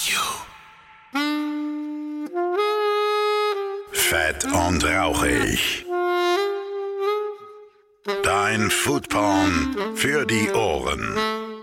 you. Fett und rauchig. Dein Foodporn für die Ohren.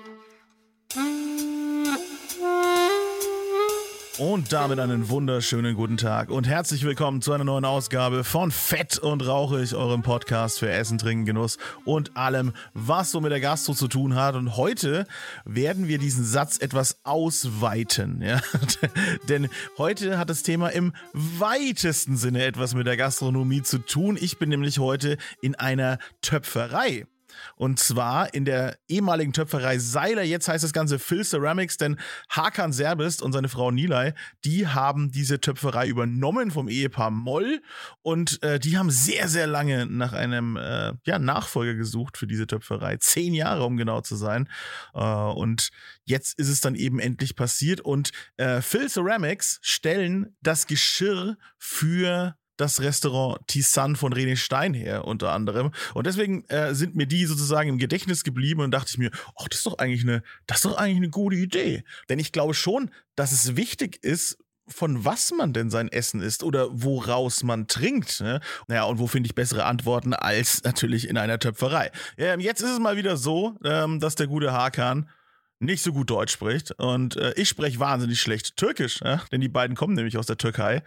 Und damit einen wunderschönen guten Tag und herzlich willkommen zu einer neuen Ausgabe von Fett und Rauchig, eurem Podcast für Essen, Trinken, Genuss und allem, was so mit der Gastro zu tun hat. Und heute werden wir diesen Satz etwas ausweiten, ja? Denn heute hat das Thema im weitesten Sinne etwas mit der Gastronomie zu tun. Ich bin nämlich heute in einer Töpferei. Und zwar in der ehemaligen Töpferei Seiler. Jetzt heißt das Ganze Phil Ceramics, denn Hakan Serbest und seine Frau Nilay, die haben diese Töpferei übernommen vom Ehepaar Moll. Und die haben sehr, sehr lange nach einem Nachfolger gesucht für diese Töpferei. 10 Jahre, um genau zu sein. Und jetzt ist es dann eben endlich passiert. Und Phil Ceramics stellen das Geschirr für das Restaurant Tisane von René Stein her, unter anderem. Und deswegen sind mir die sozusagen im Gedächtnis geblieben und dachte ich mir, das ist doch eigentlich eine gute Idee. Denn ich glaube schon, dass es wichtig ist, von was man denn sein Essen isst oder woraus man trinkt. Ne? Naja, und wo finde ich bessere Antworten als natürlich in einer Töpferei. Jetzt ist es mal wieder so, dass der gute Hakan nicht so gut Deutsch spricht. Und ich spreche wahnsinnig schlecht Türkisch, denn die beiden kommen nämlich aus der Türkei.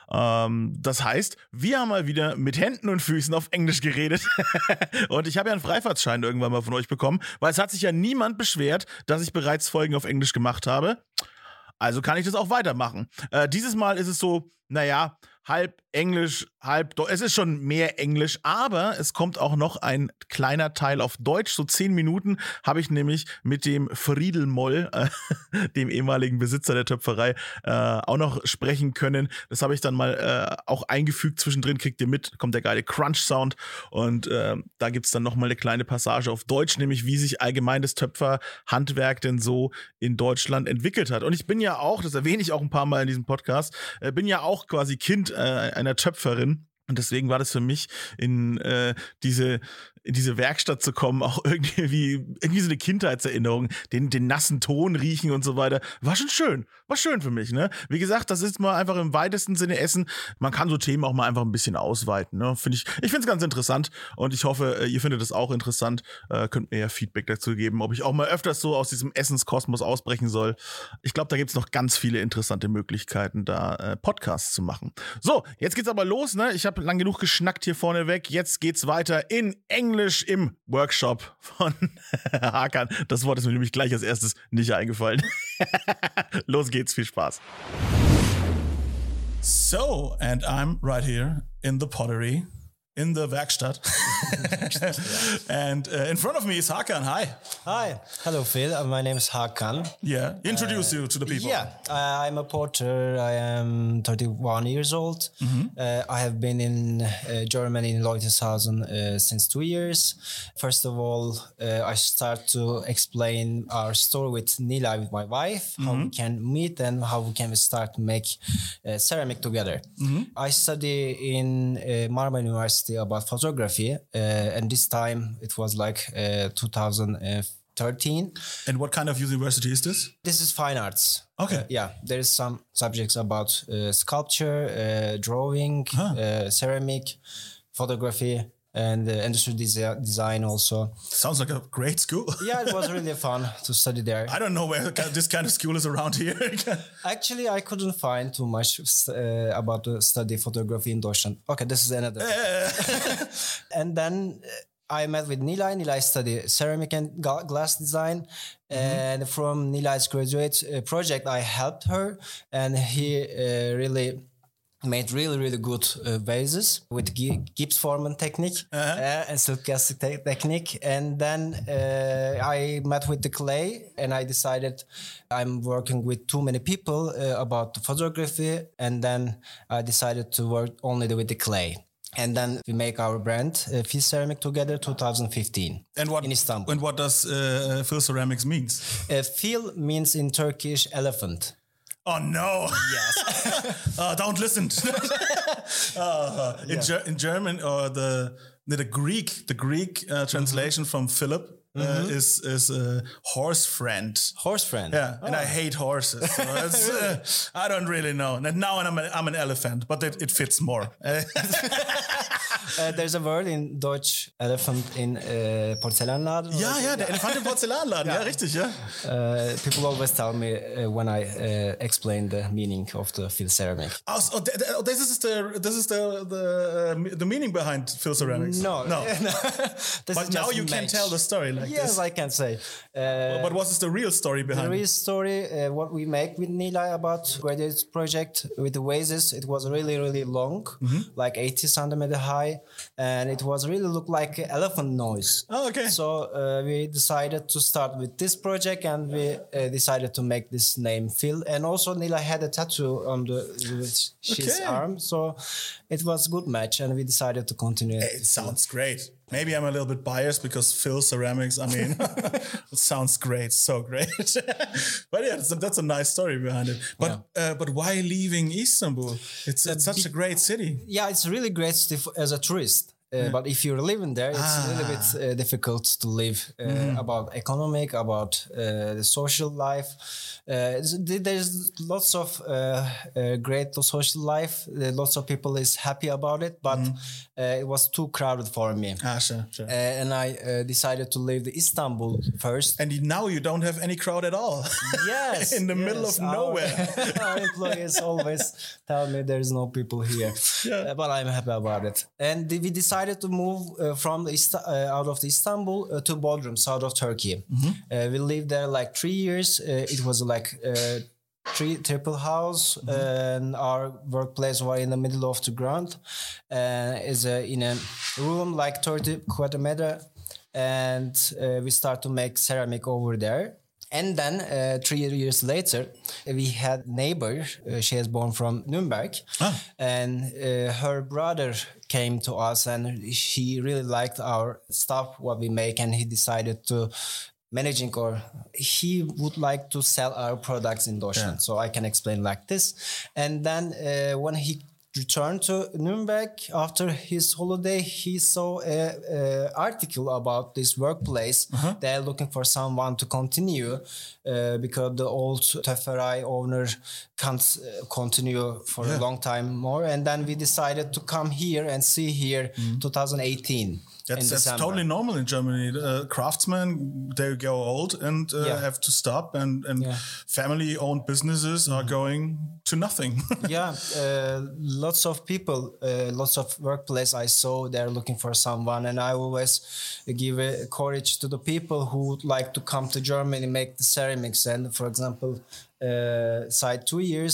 Das heißt, wir haben mal wieder mit Händen und Füßen auf Englisch geredet. Und ich habe ja einen Freifahrtschein irgendwann mal von euch bekommen, weil es hat sich ja niemand beschwert, dass ich bereits Folgen auf Englisch gemacht habe. Also kann ich das auch weitermachen. Dieses Mal ist es so, halb Englisch, halb Deutsch. Es ist schon mehr Englisch, aber es kommt auch noch ein kleiner Teil auf Deutsch. So 10 Minuten habe ich nämlich mit dem Friedel Moll, dem ehemaligen Besitzer der Töpferei, auch noch sprechen können. Das habe ich dann mal auch eingefügt. Zwischendrin kriegt ihr mit, kommt der geile Crunch-Sound. Und da gibt es dann noch mal eine kleine Passage auf Deutsch, nämlich wie sich allgemein das Töpferhandwerk denn so in Deutschland entwickelt hat. Und ich bin ja auch, das erwähne ich auch ein paar Mal in diesem Podcast, bin ja auch quasi Kind einer Töpferin. Und deswegen war das für mich in diese Werkstatt zu kommen, auch irgendwie so eine Kindheitserinnerung, den nassen Ton riechen und so weiter. War schon schön. War schön für mich, ne? Wie gesagt, das ist mal einfach im weitesten Sinne Essen. Man kann so Themen auch mal einfach ein bisschen ausweiten, ne? Ich finde es ganz interessant und ich hoffe, ihr findet es auch interessant. Könnt mir ja Feedback dazu geben, ob ich auch mal öfters so aus diesem Essenskosmos ausbrechen soll. Ich glaube, da gibt es noch ganz viele interessante Möglichkeiten, da Podcasts zu machen. So, jetzt geht's aber los, ne? Ich habe lang genug geschnackt hier vorneweg. Jetzt geht's weiter in Englisch im Workshop von Hakan. Das Wort ist mir nämlich gleich als erstes nicht eingefallen. Los geht's, viel Spaß. So, and I'm right here in the pottery, in the Werkstatt. And in front of me is Hakan. Hi. Hi. Hello, Phil. My name is Hakan. Yeah. Introduce you to the people. Yeah. I'm a porter. I am 31 years old. Mm-hmm. I have been in Germany in Leutershausen since 2 years. First of all, I start to explain our story with Nilay, with my wife, how we can meet and how we can start to make ceramic together. Mm-hmm. I study in Marmara University about photography, and this time it was like 2013. And what kind of university is this? This is fine arts. Okay. There is some subjects about sculpture, drawing, ceramic, photography, and industrial design also. Sounds like a great school. Yeah, it was really fun to study there. I don't know where this kind of school is around here. Actually, I couldn't find too much about to study photography in Deutschland. Okay, this is another. And then I met with Nilay. Nilay studied ceramic and glass design. And from Nilay's graduate project, I helped her. And he really made really good vases with Gibbs Foreman technique and silk casting technique. And then I met with the clay and I decided I'm working with too many people about the photography. And then I decided to work only with the clay. And then we make our brand, Phil Ceramic, together 2015 in Istanbul. And what does Phil Ceramics means? Phil means in Turkish elephant. Oh no! Yes. Don't listen. In German, or the Greek translation from Philip is horse friend. Horse friend. Yeah, and I hate horses. So it's, I don't really know. And now I'm an elephant, but it fits more. There's a word in Deutsch, elephant in Porzellanladen. Ja, der Elefant im Porzellanladen. Ja, richtig, ja. People always tell me when I explain the meaning of the Phil Ceramic. Oh, this is the meaning behind Phil Ceramics. No. But now you can tell the story like yes, this. I can say. But what is the real story behind The real it? story, what we make with Nilay about graduate project with the vases, it was really, really long, like 80 centimeter high, and it was really look like elephant noise. Oh, okay. So we decided to start with this project, and we decided to make this name Phil. And also Nilay had a tattoo on his arm, so it was a good match, and we decided to continue. It sounds great. Maybe I'm a little bit biased because Phil Ceramics, I mean, it sounds great, so great. But yeah, that's a nice story behind it. But why leaving Istanbul? It's such a great city. Yeah, it's really great as a tourist. But if you're living there, it's a little bit difficult to live about economic, about the social life. There's lots of great social life. Lots of people is happy about it, but it was too crowded for me. Sure. And I decided to leave the Istanbul first. And now you don't have any crowd at all. Yes. In the middle of nowhere. Our employees always tell me there's no people here. But I'm happy about it. And we decided to move from out of Istanbul to Bodrum, south of Turkey. We lived there like 3 years. It was like triple house, and our workplace was in the middle of the ground. Is in a room like 30 quarter meter, and we start to make ceramic over there. And then 3 years later, we had neighbor. She is born from Nuremberg, and her brother came to us, and he really liked our stuff, what we make, and he decided to he would like to sell our products in Deutschland. So I can explain like this. And then when he returned to Nuremberg after his holiday, he saw an article about this workplace. They're looking for someone to continue because the old Töpferei owner can't continue for a long time more. And then we decided to come here and see here 2018. That's totally normal in Germany. Craftsmen, they go old and have to stop, and family-owned businesses are going to nothing. Lots of people, lots of workplace I saw, they're looking for someone, and I always give courage to the people who would like to come to Germany, make the ceramics. And for example, since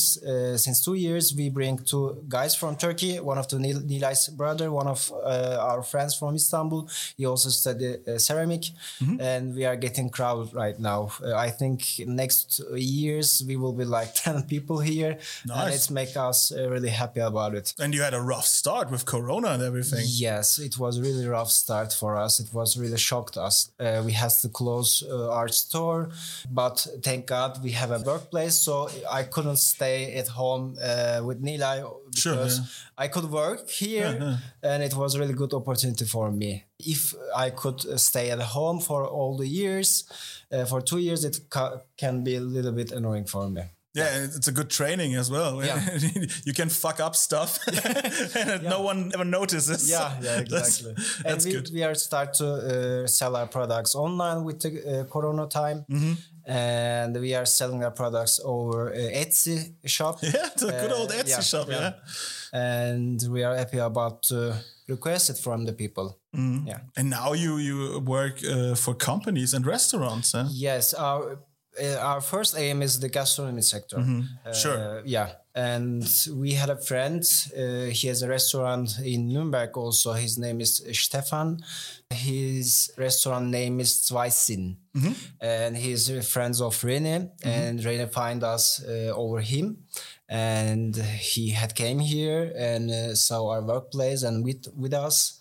2 years, we bring 2 guys from Turkey, one of the Nilay's brother, one of our friends from Istanbul. He also studied ceramic, and we are getting crowded right now. I think next years we will be like 10 people here. Nice. And it's make us really happy about it. And you had a rough start with Corona and everything. Yes, it was a really rough start for us. It was really shocked us. We had to close our store, but thank God we have a workplace. So I couldn't stay at home with Nilay because I could work here, and it was a really good opportunity for me. If I could stay at home for all the years, for 2 years, it can be a little bit annoying for me. Yeah, it's a good training as well. Yeah. You can fuck up stuff and no one ever notices. Yeah, exactly. That's and good. We are start to sell our products online with the Corona time. And we are selling our products over Etsy shop. Yeah, the good old Etsy shop, yeah. And we are happy about to request it from the people. Yeah. And now you work for companies and restaurants, huh? Yes, our first aim is the gastronomy sector. Sure. Yeah. And we had a friend, he has a restaurant in Nuremberg also. His name is Stefan. His restaurant name is Zweisinn. And he's friends of Rene. And Rene find us over him. And he had came here and saw our workplace and with us.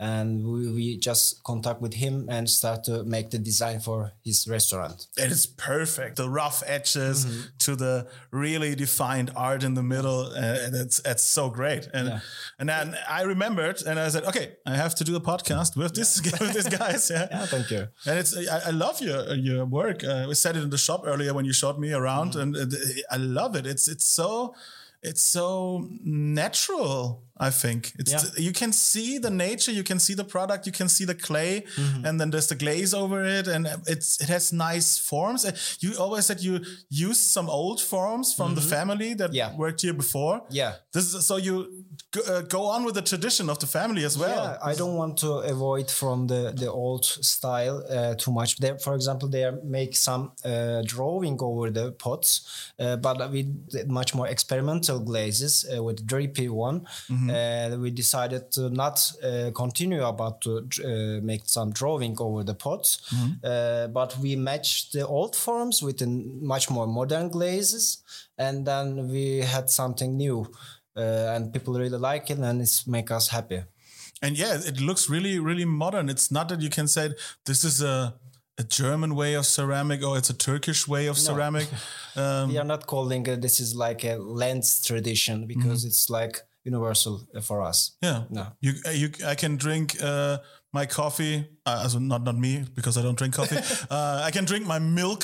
and we just contact with him and start to make the design for his restaurant. And it's perfect. The rough edges to the really defined art in the middle. And it's so great. And then I remembered and I said, okay, I have to do a podcast with this with these guys. Yeah, thank you. And I love your work. We said it in the shop earlier when you showed me around, and I love it. It's so natural. I think you can see the nature, you can see the product, you can see the clay, and then there's the glaze over it, and it has nice forms. You always said you used some old forms from the family that worked here before. Yeah, so you go on with the tradition of the family as well. Yeah, I don't want to avoid from the old style too much. For example, they make some drawing over the pots, but with much more experimental glazes with drippy one. We decided to not continue about to make some drawing over the pots, but we matched the old forms with much more modern glazes, and then we had something new, and people really like it, and it's make us happy. And yeah, it looks really, really modern. It's not that you can say this is a German way of ceramic or it's a Turkish way of ceramic. We are not calling it, this is like a lens tradition, because it's like universal for us. Yeah. No. I can drink my coffee, also not me, because I don't drink coffee. I can drink my milk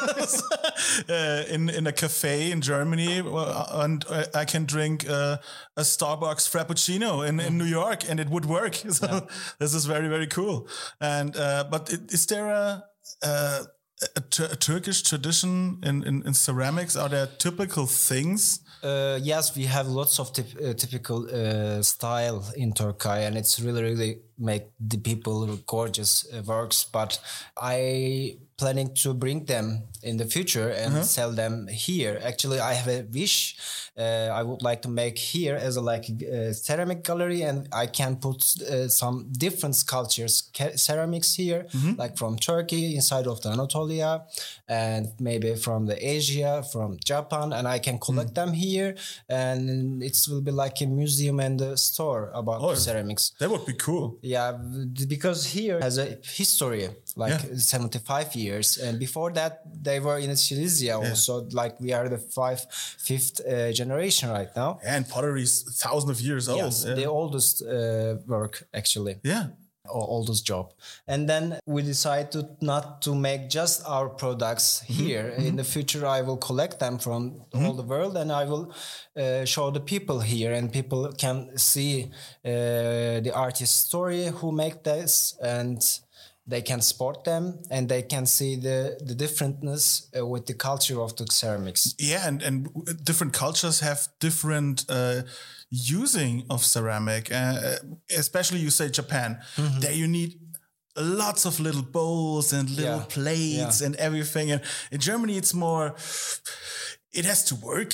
in a cafe in Germany, and I can drink a Starbucks Frappuccino in New York, and it would work. So this is very, very cool. And but is there a Turkish tradition in ceramics? Are there typical things? Yes, we have lots of typical style in Turkey, and it's really, really make the people gorgeous works. But I planning to bring them in the future and sell them here. Actually, I have a wish. I would like to make here as a ceramic gallery, and I can put some different cultures ceramics here, like from Turkey, inside of the Anatolia, and maybe from the Asia, from Japan, and I can collect them here, and it will be like a museum and a store about ceramics. That would be cool. Yeah, because here has a history, like 75 years, and before that they were in Silesia also, like we are the fifth generation right now. And pottery is thousands of years old. Yes, the oldest work actually. Yeah. Or oldest job. And then we decided not to make just our products here. In the future, I will collect them from all the world, and I will show the people here, and people can see the artist's story who make this, and they can support them, and they can see the differentness with the culture of the ceramics. Yeah, and different cultures have different using of ceramic, especially you say Japan. There you need lots of little bowls and little plates and everything. And in Germany, it's more, it has to work.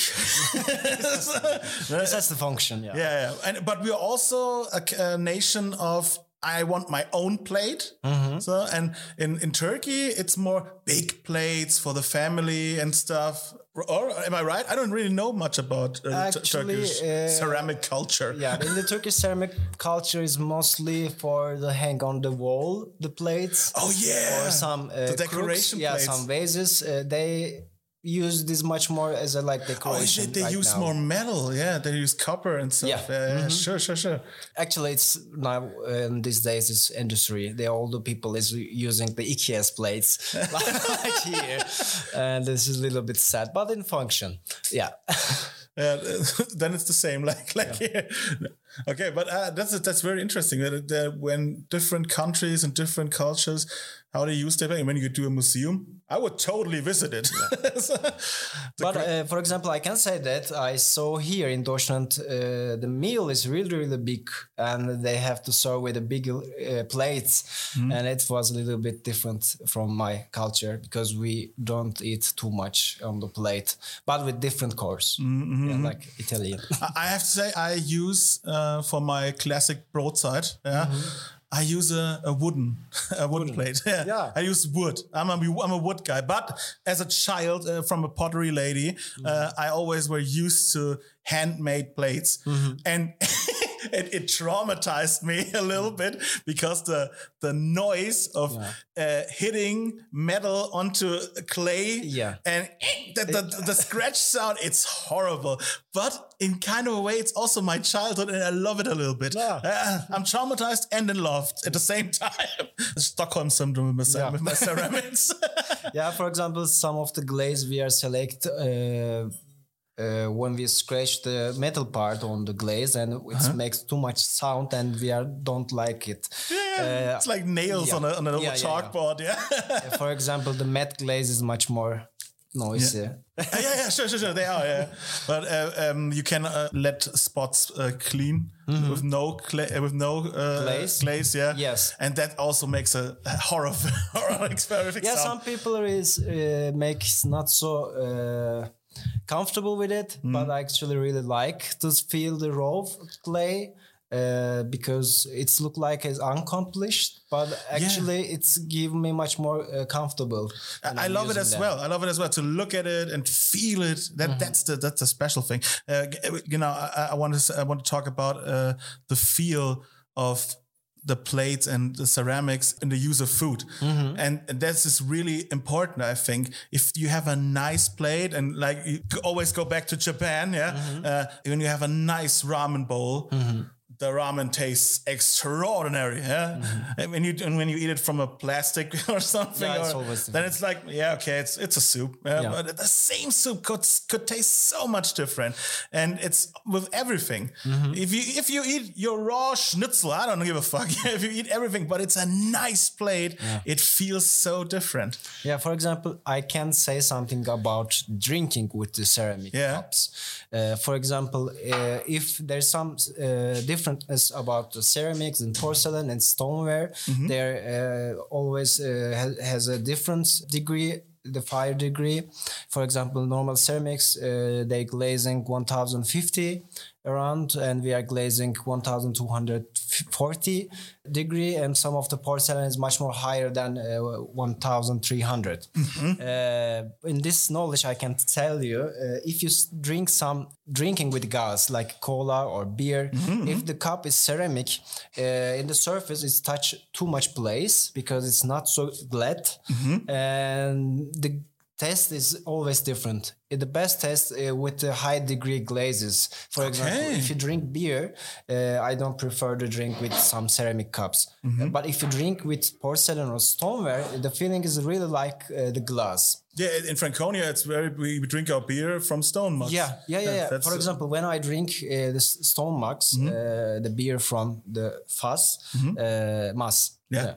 This has the function, Yeah. But we're also a nation of, I want my own plate. So, and in Turkey, it's more big plates for the family and stuff. Or am I right? I don't really know much about Turkish ceramic culture. Yeah, in the Turkish ceramic culture is mostly for the hang on the wall, the plates. Oh yeah, or some the decoration crooks, plates. Some vases. They use this much more as a decoration. They use more metal. Yeah, they use copper and stuff. Yeah. Sure. Actually, it's now these days it's industry. All the people is using the IKEA's plates like here, and this is a little bit sad, but in function, then it's the same like here. Okay, but that's very interesting that when different countries and different cultures, how they use their, when you do a museum, I would totally visit it. But for example, I can say that I saw here in Deutschland, the meal is really, really big, and they have to serve with the big plates, and it was a little bit different from my culture, because we don't eat too much on the plate, but with different course, like Italian. I have to say, I use for my classic broadside, I use a wooden plate. Yeah. I use wood. I'm a wood guy. But as a child, from a pottery lady, I always were used to handmade plates. And it traumatized me a little bit because the noise of hitting metal onto clay and the scratch sound, it's horrible. But in kind of a way, it's also my childhood and I love it a little bit. Yeah. I'm traumatized and in love at the same time. Stockholm syndrome with my ceramics. Yeah, for example, some of the glaze we are select when we scratch the metal part on the glaze and it makes too much sound and we don't like it. Yeah, it's like nails on a little chalkboard. Yeah. For example, the matte glaze is much more noisy. Sure. They are, yeah. But you can let spots clean with no glaze, yeah. Yes. And that also makes a horror experience. Yeah, some people makes not so comfortable with it, but I actually really like to feel the raw clay. Because it's look like it's unaccomplished, but actually it's give me much more comfortable. I love it as well. I love it as well to look at it and feel it. That's the special thing. I want to talk about the feel of the plates and the ceramics in the use of food. And this is really important, I think. If you have a nice plate and like you always go back to Japan, when you have a nice ramen bowl, the ramen tastes extraordinary, And when you eat it from a plastic or something, then it's like, it's a soup. But the same soup could taste so much different, and it's with everything. If you eat your raw schnitzel, I don't give a fuck. If you eat everything, but it's a nice plate, it feels so different. Yeah, for example, I can say something about drinking with the ceramic cups. For example, if there's some difference about the ceramics and porcelain and stoneware, there always has a different degree, the fire degree. For example, normal ceramics, they glazing 1050 around, and we are glazing 1240 degree, and some of the porcelain is much more higher than 1300. In this knowledge, I can tell you, if you drink some drinking with gas like cola or beer, if the cup is ceramic, in the surface it's touch too much place because it's not so glad, and the taste is always different. The best taste with the high degree glazes. For example, if you drink beer, I don't prefer to drink with some ceramic cups. But if you drink with porcelain or stoneware, the feeling is really like the glass. Yeah, in Franconia, we drink our beer from stone mugs. Yeah. For example, when I drink the stone mugs, the beer from the Fass, Mass. Yeah.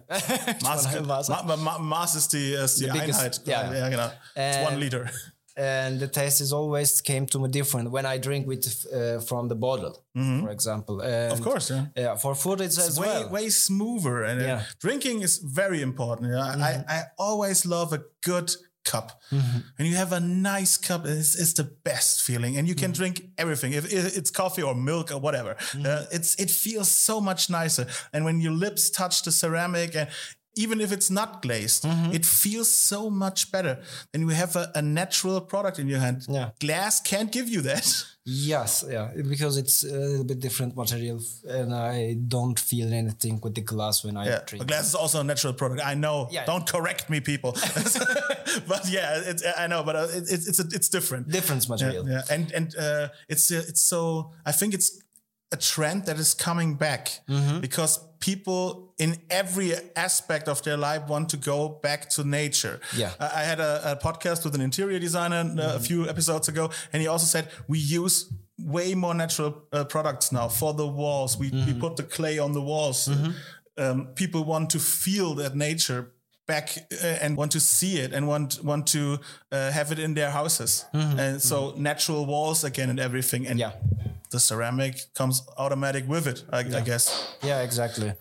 Mass is the Einheit. Yeah. It's 1 liter. And the taste is always came to me different when I drink with from the bottle, for example. And, of course, for food it's way smoother, and drinking is very important. I always love a good cup. And you have a nice cup, it's the best feeling, and you can drink everything. If it's coffee or milk or whatever, it feels so much nicer. And when your lips touch the ceramic, and even if it's not glazed, it feels so much better. And you have a natural product in your hand. Glass can't give you that. Yes, because it's a little bit different material, and I don't feel anything with the glass when I drink. But glass is also a natural product. I know. Yeah. Don't correct me, people. But I know. But it's different. Different material. Yeah. And it's so. I think it's a trend that is coming back because people in every aspect of their life want to go back to nature. Yeah. I had a podcast with an interior designer a few episodes ago, and he also said we use way more natural products now for the walls. We put the clay on the walls. People want to feel that nature back and want to see it and want to have it in their houses. And so natural walls again and everything. And the ceramic comes automatic with it, I guess. Yeah, exactly.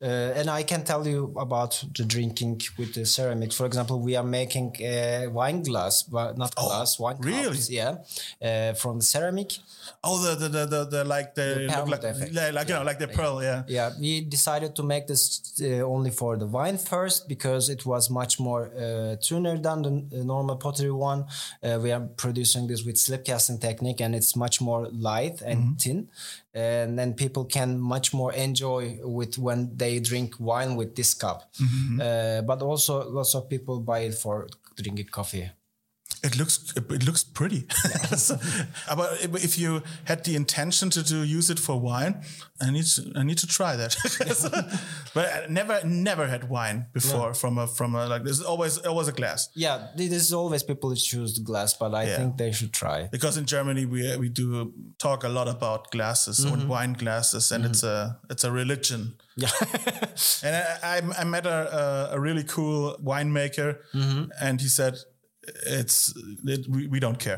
And I can tell you about the drinking with the ceramic. For example, we are making a wine glass, but not glass, wine cups. Yeah, from ceramic. Oh, the like the pearl look like, effect. you know, like the pearl. Yeah. Yeah, we decided to make this only for the wine first because it was much more thinner than the normal pottery one. We are producing this with slip casting technique, and it's much more light and thin. And then people can much more enjoy with when they drink wine with this cup. But also lots of people buy it for drinking coffee. It looks pretty. But if you had the intention to use it for wine, I need to try that. But I never had wine before from a like this. Always a glass. Yeah, there's always people who choose the glass, but I think they should try. Because in Germany we do talk a lot about glasses and wine glasses, and it's a religion. Yeah. And I met a really cool winemaker, and he said, we don't care.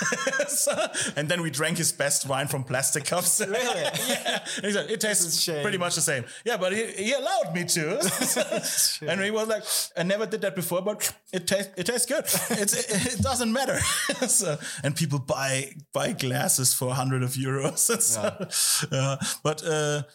And then we drank his best wine from plastic cups. Really? Yeah. And he said, it tastes pretty much the same. Yeah, but he allowed me to. And he was like, I never did that before, but it tastes good. It doesn't matter. And people buy glasses for hundreds of euros. But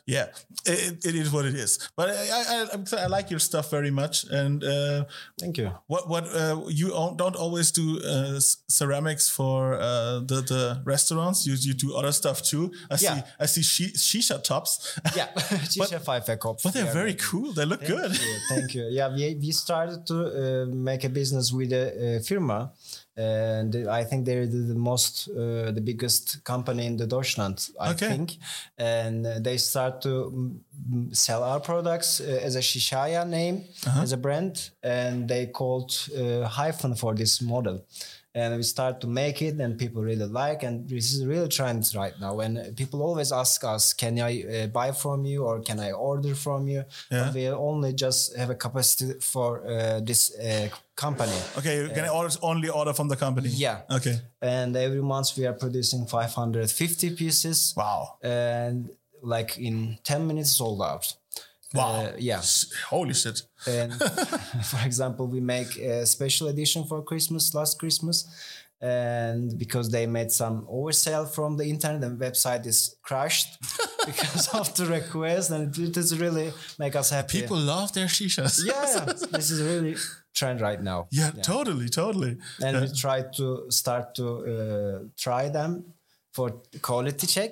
it is what it is. But I like your stuff very much. And thank you. What you don't always do ceramics for the restaurants. You do other stuff too. I see shisha tops. Yeah, shisha pfeife cups. But they're very cool. They look good. Thank you. Yeah, we started to make a business with a firma. And I think they're the biggest company in the Deutschland, I think. And they start to sell our products as a Shishaya name, as a brand. And they called Hyphen for this model. And we start to make it, and people really like, and this is a real trend right now. And people always ask us, can I buy from you, or can I order from you? Yeah. But we only just have a capacity for this company. Okay, you can only order from the company? Yeah. Okay. And every month we are producing 550 pieces. Wow. And like in 10 minutes sold out. Wow. Yeah. Holy shit. And for example, we make a special edition for last Christmas. And because they made some oversell from the internet, and website is crashed because of the request. And it does really make us happy. People love their shishas. Yeah. This is really trend right now. Yeah. Totally. And we try to start to try them for quality check.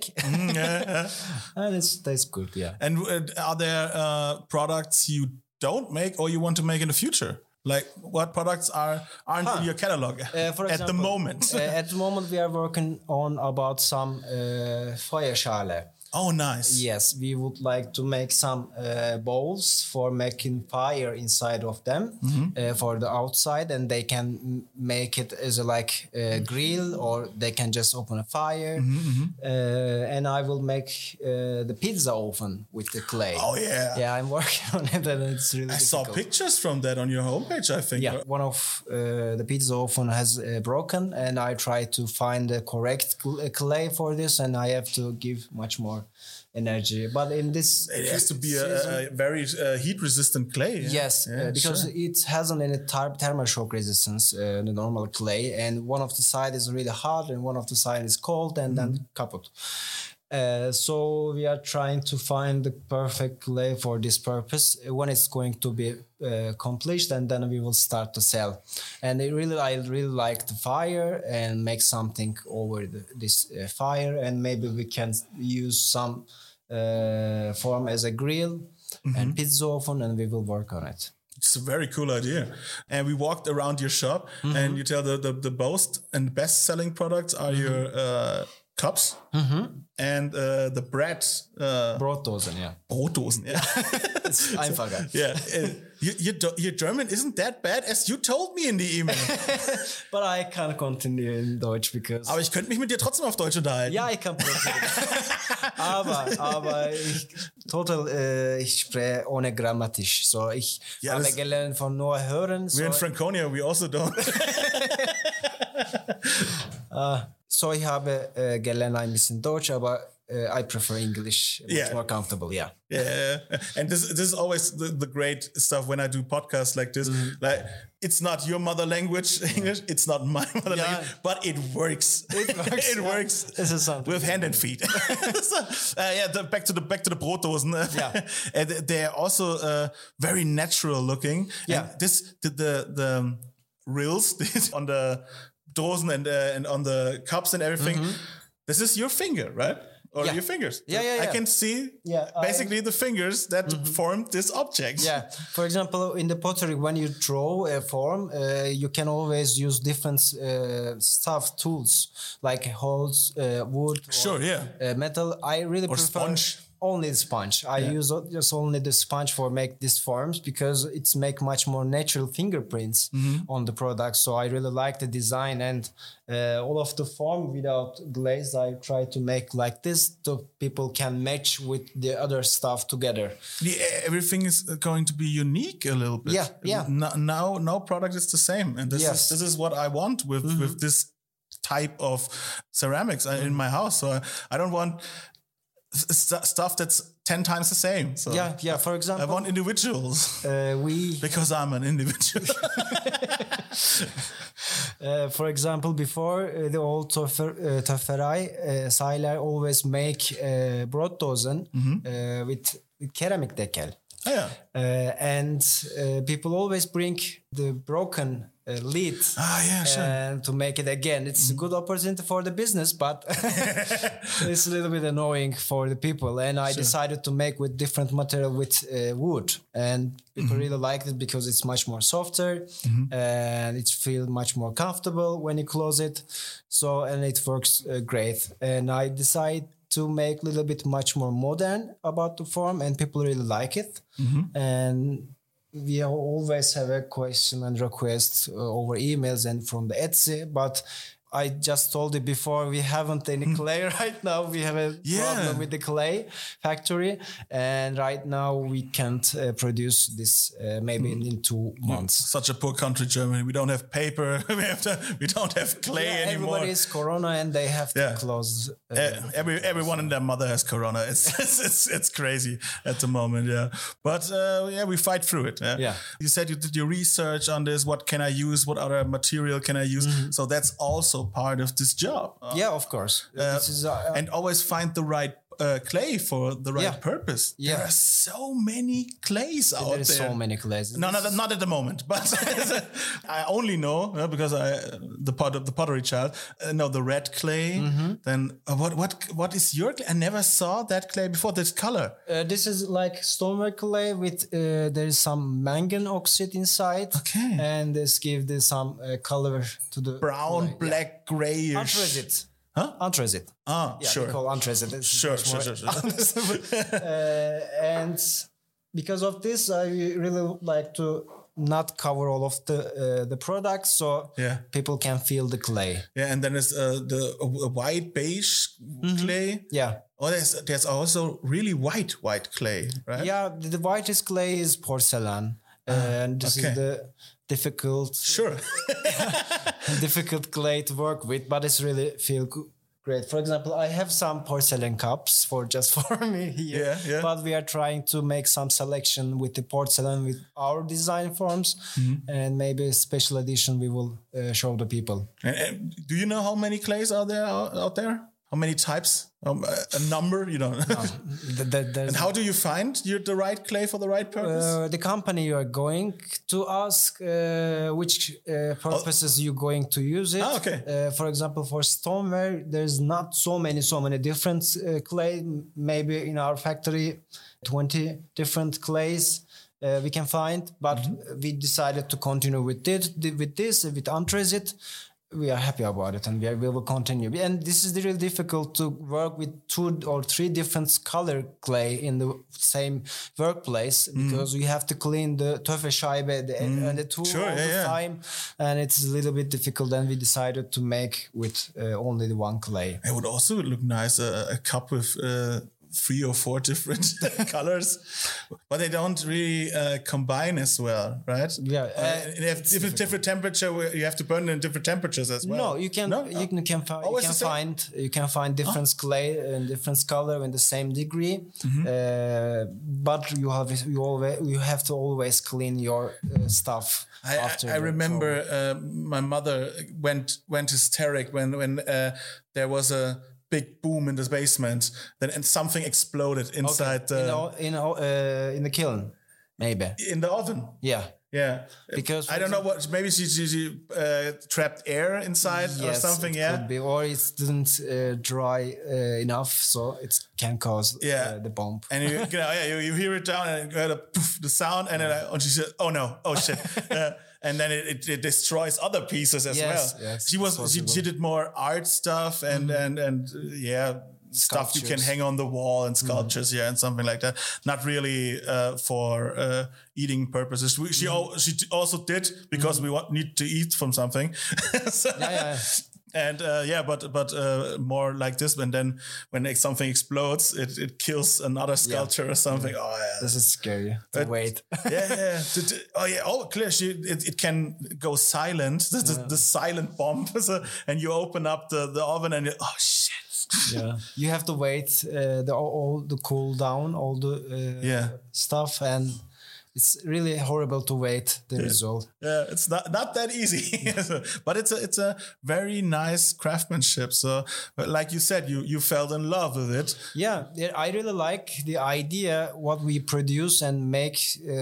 And that's good, yeah. And are there products you don't make or you want to make in the future? Like what products aren't in your catalog for example, at the moment? At the moment we are working on about some Feuerschale. Oh, nice. Yes, we would like to make some bowls for making fire inside of them for the outside, and they can make it as a grill, or they can just open a fire. And I will make the pizza oven with the clay. Oh, yeah. Yeah, I'm working on it, and it's really difficult. Saw pictures from that on your homepage, I think. Yeah, one of the pizza oven has broken, and I try to find the correct clay for this, and I have to give much more energy. But in this, it has to be a very heat-resistant clay. Yeah? Yes, because it hasn't any thermal shock resistance, the normal clay, and one of the side is really hot and one of the side is cold, and then kaput. So we are trying to find the perfect clay for this purpose when it's going to be accomplished, and then we will start to sell. And I really like the fire, and make something over this fire, and maybe we can use some form as a grill and pizza oven, and we will work on it. It's a very cool idea. And we walked around your shop, and you tell the most and best selling products are your cups and the bread. Brotdosen, yeah. Brotdosen, yeah. It's einfacher. Yeah. Your German isn't that bad, as you told me in the email. But I can't continue in Deutsch because... Aber ich könnte mich mit dir trotzdem auf Deutsch unterhalten. Ja, ich kann aber ich spreche ohne grammatisch. So, ich habe gelernt von nur hören. We're in Franconia, we also don't. So, ich habe gelernt ein bisschen Deutsch, aber I prefer English. It's more comfortable. Yeah. Yeah, and this is always the great stuff when I do podcasts like this. Like, it's not your mother language, English. It's not my mother language, but it works. It works. It works. This is something with hand and feet. Back to the Brotdosen. And they're also very natural looking. Yeah. And the rills on the dosen and on the cups and everything. This is your finger, right? Or your fingers. Yeah. I can see basically the fingers that formed this object. Yeah. For example, in the pottery, when you draw a form, you can always use different tools like holes, wood, metal. I really prefer sponge. Only the sponge. I use just only the sponge for make these forms because it's make much more natural fingerprints on the product. So I really like the design and all of the form without glaze. I try to make like this so people can match with the other stuff together. Everything is going to be unique a little bit. Yeah. No product is the same, and this is what I want with this type of ceramics in my house. So I don't want stuff that's 10 times the same. So for example, I want individuals. Because I'm an individual. For example, before the old Töfferei, Seiler always make Brotdosen with ceramic decal. And people always bring the broken lid to make it again. It's a good opportunity for the business, but it's a little bit annoying for the people. And I decided to make with different material with wood, and people really liked it because it's much more softer and it feels much more comfortable when you close it. So, and it works great. And I decided to make a little bit much more modern about the form, and people really like it. And we always have a question and request over emails and from the Etsy, but I just told you before, we haven't any clay right now. We have a problem with the clay factory, and right now we can't produce this maybe in 2 months. Such a poor country, Germany. We don't have paper. We don't have clay anymore. Everybody is corona, and they have to close. Everyone and their mother has corona. It's crazy at the moment. Yeah, but we fight through it. You said you did your research on this. What can I use? What other material can I use? So that's also part of this job. Of course. This is, and always find the right clay for the right purpose. There are so many clays out there. There is so many clays. No, not at the moment. But I only know because the pottery child know the red clay. Then what is your clay? I never saw that clay before. This color. This is like stoneware clay with there is some mangan oxide inside. Okay. And this gives some color to the brown, clay. Black, grayish. Anthracite. Anthracite. Sure. They call anthracite. Sure. And because of this, I really like to not cover all of the products, so people can feel the clay. Yeah, and then there's the white beige clay. Yeah. Oh, there's also really white clay, right? Yeah, the whitest clay is porcelain, and this is the difficult. Difficult clay to work with, but it's really feel great. For example, I have some porcelain cups for me here, but we are trying to make some selection with the porcelain with our design forms, and maybe a special edition we will show the people. And do you know how many clays are there out there? How many types? A number? You don't know. And how do you find the right clay for the right purpose? The company you are going to ask which purposes you're going to use it. Okay. For example, for stoneware, there's not so many different clay. Maybe in our factory, 20 different clays we can find. But we decided to continue with anthracite. We are happy about it, and we will continue. And this is really difficult to work with 2 or 3 different color clay in the same workplace because we have to clean the Töfferscheibe and the tool all the time, and it's a little bit difficult. And we decided to make with only the one clay. It would also look nice, a cup with 3 or 4 different colors, but they don't really combine as well, right? Yeah, they have different temperature. Where you have to burn in different temperatures as well. No, you can find different clay and different color in the same degree, but you have to always clean your stuff. I remember my mother went hysteric when there was a big boom in the basement, and something exploded inside in the kiln, maybe in the oven. Yeah, because I don't know what. Maybe she trapped air inside or something. Could be, or it didn't dry enough, so it can cause the bomb. And you hear it down and you heard the sound, and then she said, "Oh no, oh shit." And then it destroys other pieces as well. Yes, she did more art stuff and stuff you can hang on the wall and sculptures, and something like that. Not really for eating purposes. She also did because we need to eat from something. And but more like this. And then when something explodes, it kills another sculpture or something. Oh yeah, this is scary. Wait. Clear. It can go silent. The silent bomb. And you open up the oven and shit. Yeah, you have to wait all the cool down, all the stuff, and it's really horrible to wait the result. Yeah, it's not that easy, but it's a very nice craftsmanship. So, like you said, you fell in love with it. Yeah, I really like the idea what we produce and make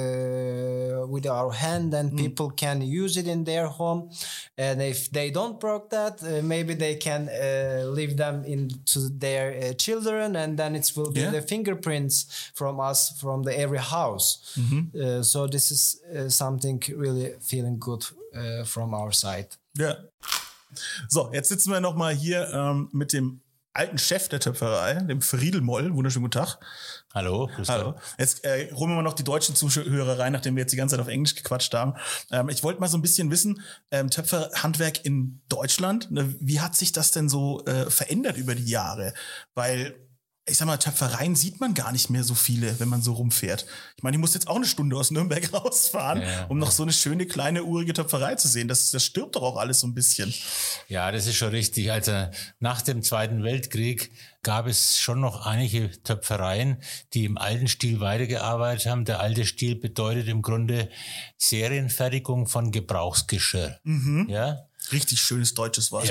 with our hand, and people can use it in their home. And if they don't broke that, maybe they can leave them into their children, and then it will be the fingerprints from us from every house. So this is something really feeling good from our side. Ja. So, jetzt sitzen wir nochmal hier mit dem alten Chef der Töpferei, dem Friedel Moll. Wunderschönen guten Tag. Hallo. Hallo. Jetzt holen wir mal noch die deutschen Zuhörer rein, nachdem wir jetzt die ganze Zeit auf Englisch gequatscht haben. Ich wollte mal so ein bisschen wissen, Töpferhandwerk in Deutschland, wie hat sich das denn so verändert über die Jahre? Weil ich sag mal, Töpfereien sieht man gar nicht mehr so viele, wenn man so rumfährt. Ich meine, ich muss jetzt auch eine Stunde aus Nürnberg rausfahren, um noch so eine schöne, kleine, urige Töpferei zu sehen. Das stirbt doch auch alles so ein bisschen. Ja, das ist schon richtig. Also nach dem Zweiten Weltkrieg gab es schon noch einige Töpfereien, die im alten Stil weitergearbeitet haben. Der alte Stil bedeutet im Grunde Serienfertigung von Gebrauchsgeschirr. Ja? Richtig schönes deutsches Wort.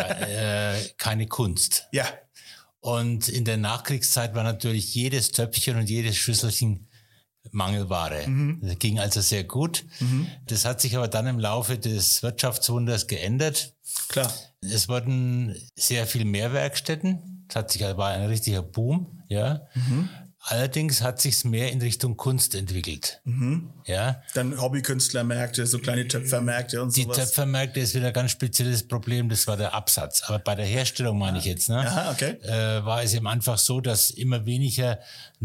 Keine Kunst. Ja. Und in der Nachkriegszeit war natürlich jedes Töpfchen und jedes Schüsselchen Mangelware. Das ging also sehr gut. Das hat sich aber dann im Laufe des Wirtschaftswunders geändert. Klar. Es wurden sehr viel mehr Werkstätten. War ein richtiger Boom. Ja. Allerdings hat sich's mehr in Richtung Kunst entwickelt. Ja. Dann Hobbykünstlermärkte, so kleine Töpfermärkte und sowas. Die Töpfermärkte ist wieder ein ganz spezielles Problem, das war der Absatz. Aber bei der Herstellung meine ich jetzt, ne? Aha, okay. War es eben einfach so, dass immer weniger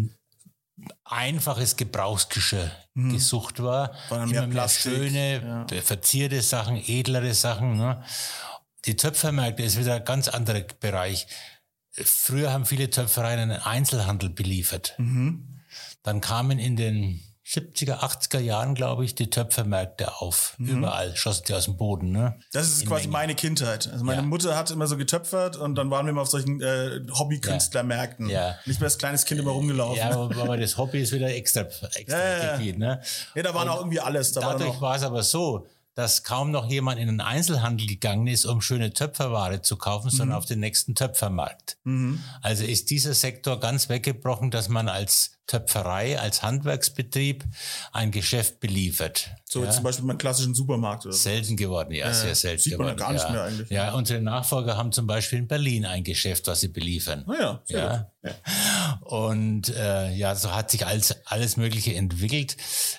einfaches Gebrauchsgeschirr gesucht war. Immer mehr schöne, verzierte Sachen, edlere Sachen. Ne? Die Töpfermärkte ist wieder ein ganz anderer Bereich. Früher haben viele Töpfereien einen Einzelhandel beliefert. Dann kamen in den 70er, 80er Jahren, glaube ich, die Töpfermärkte auf. Überall schossen die aus dem Boden. Ne? Das ist quasi meine Kindheit. Also meine Mutter hat immer so getöpfert und dann waren wir immer auf solchen Hobbykünstlermärkten. Ja. Nicht mehr als kleines Kind immer rumgelaufen. Ja, aber das Hobby ist wieder extra Gebiet. Ne? Ja, da war auch irgendwie alles. Dadurch war es aber so, dass kaum noch jemand in den Einzelhandel gegangen ist, um schöne Töpferware zu kaufen, sondern auf den nächsten Töpfermarkt. Also ist dieser Sektor ganz weggebrochen, dass man als Töpferei, als Handwerksbetrieb ein Geschäft beliefert. So zum Beispiel beim klassischen Supermarkt oder so. Selten geworden, sehr selten sieht man geworden. Gar nicht mehr eigentlich. Ja, unsere Nachfolger haben zum Beispiel in Berlin ein Geschäft, was sie beliefern. Sehr gut. Und so hat sich alles Mögliche entwickelt.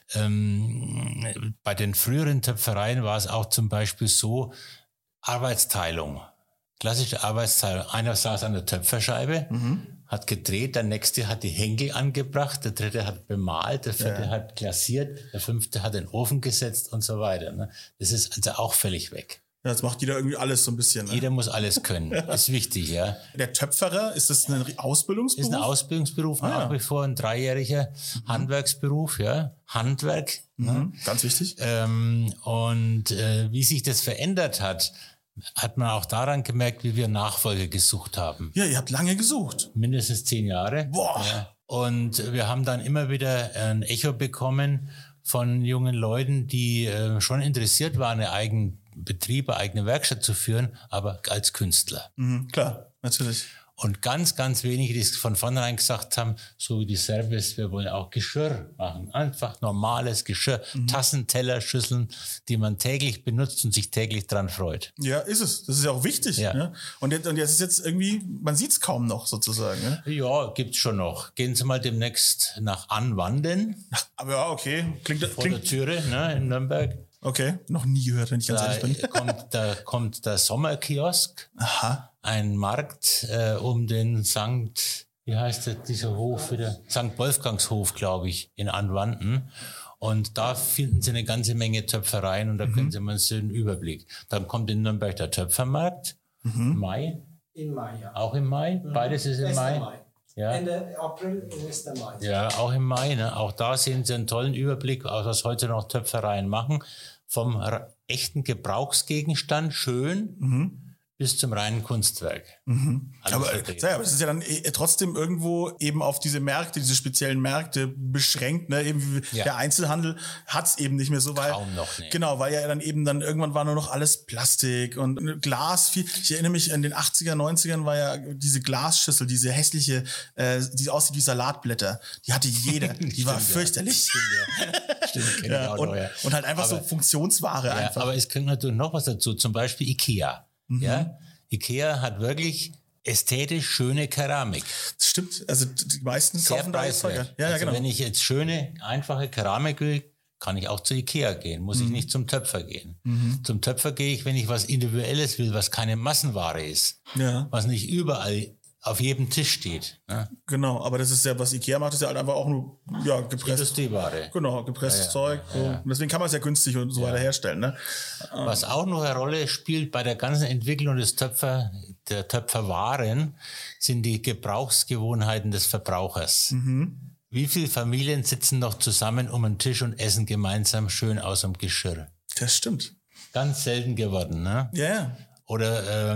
Bei den früheren Töpfereien war es auch zum Beispiel so, Arbeitsteilung. Klassische Arbeitsteilung. Einer saß an der Töpferscheibe, hat gedreht, der nächste hat die Henkel angebracht, der dritte hat bemalt, der vierte hat glasiert, der fünfte hat den Ofen gesetzt und so weiter. Ne? Das ist also auch völlig weg. Ja, jetzt macht jeder irgendwie alles so ein bisschen. Ne? Jeder muss alles können. Ist wichtig, ja. Der Töpferer, ist das ein Ausbildungsberuf? Ist ein Ausbildungsberuf, nach wie vor ein 3-jähriger Handwerksberuf, ja. Handwerk. Ne? Ganz wichtig. Wie sich das verändert hat man auch daran gemerkt, wie wir Nachfolger gesucht haben. Ja, ihr habt lange gesucht. Mindestens 10 Jahre. Boah. Ja. Und wir haben dann immer wieder ein Echo bekommen von jungen Leuten, die schon interessiert waren, einen eigenen Betrieb, eine eigene Werkstatt zu führen, aber als Künstler. Klar, natürlich. Und ganz, ganz wenige, die von vornherein gesagt haben, so wie die Service, wir wollen auch Geschirr machen. Einfach normales Geschirr, Tassen, Teller, Schüsseln, die man täglich benutzt und sich täglich dran freut. Ja, ist es. Das ist ja auch wichtig. Ja. Ne? Und jetzt ist jetzt irgendwie, man sieht es kaum noch sozusagen. Ne? Ja, gibt's schon noch. Gehen Sie mal demnächst nach Anwanden. Aber ja, okay. Klingt Vor der Türe, ne, in Nürnberg. Okay, noch nie gehört, wenn ich ganz ehrlich bin. Da kommt der Sommerkiosk. Aha. Ein Markt um den wie heißt der, dieser Hof wieder? St. Wolfgangshof, glaube ich, in Anwanden. Und da finden Sie eine ganze Menge Töpfereien und da können Sie mal so einen Überblick. Dann kommt in Nürnberg der Töpfermarkt. Mai. In Mai, ja. Auch im Mai? Beides ist im Mai. Ja. Ende April ist der Mai. Ja, auch im Mai. Ne? Auch da sehen Sie einen tollen Überblick, was heute noch Töpfereien machen. Vom echten Gebrauchsgegenstand, schön, bis zum reinen Kunstwerk. Aber es ist ja dann trotzdem irgendwo eben auf diese Märkte, diese speziellen Märkte beschränkt. Ne? Eben der Einzelhandel hat es eben nicht mehr so, weil kaum noch, ne. Genau, weil ja dann irgendwann war nur noch alles Plastik und Glas. Ich erinnere mich, in den 80er, 90ern war ja diese Glasschüssel, diese hässliche, die aussieht wie Salatblätter. Die hatte jeder. Die war fürchterlich. Stimmt, kenn ich auch noch, ja. Und halt einfach so Funktionsware Ja, einfach. aber es kommt natürlich noch was dazu, zum Beispiel Ikea. Ja? Ikea hat wirklich ästhetisch schöne Keramik. Das stimmt, also die meisten Sehr kaufen da jetzt preiswert. Ja, Also genau. wenn ich jetzt schöne, einfache Keramik will, kann ich auch zu Ikea gehen, muss ich nicht zum Töpfer gehen. Zum Töpfer gehe ich, wenn ich was Individuelles will, was keine Massenware ist, Ja. was nicht überall auf jedem Tisch steht. Ne? Genau, aber das ist ja, was Ikea macht, ist ja halt einfach auch nur gepresst. Industrieware. Genau, gepresstes Zeug. So. Und deswegen kann man es ja günstig und so weiter herstellen. Ne? Was auch noch eine Rolle spielt bei der ganzen Entwicklung der Töpferwaren, sind die Gebrauchsgewohnheiten des Verbrauchers. Wie viele Familien sitzen noch zusammen um einen Tisch und essen gemeinsam schön aus dem Geschirr? Das stimmt. Ganz selten geworden, ne? Ja. Oder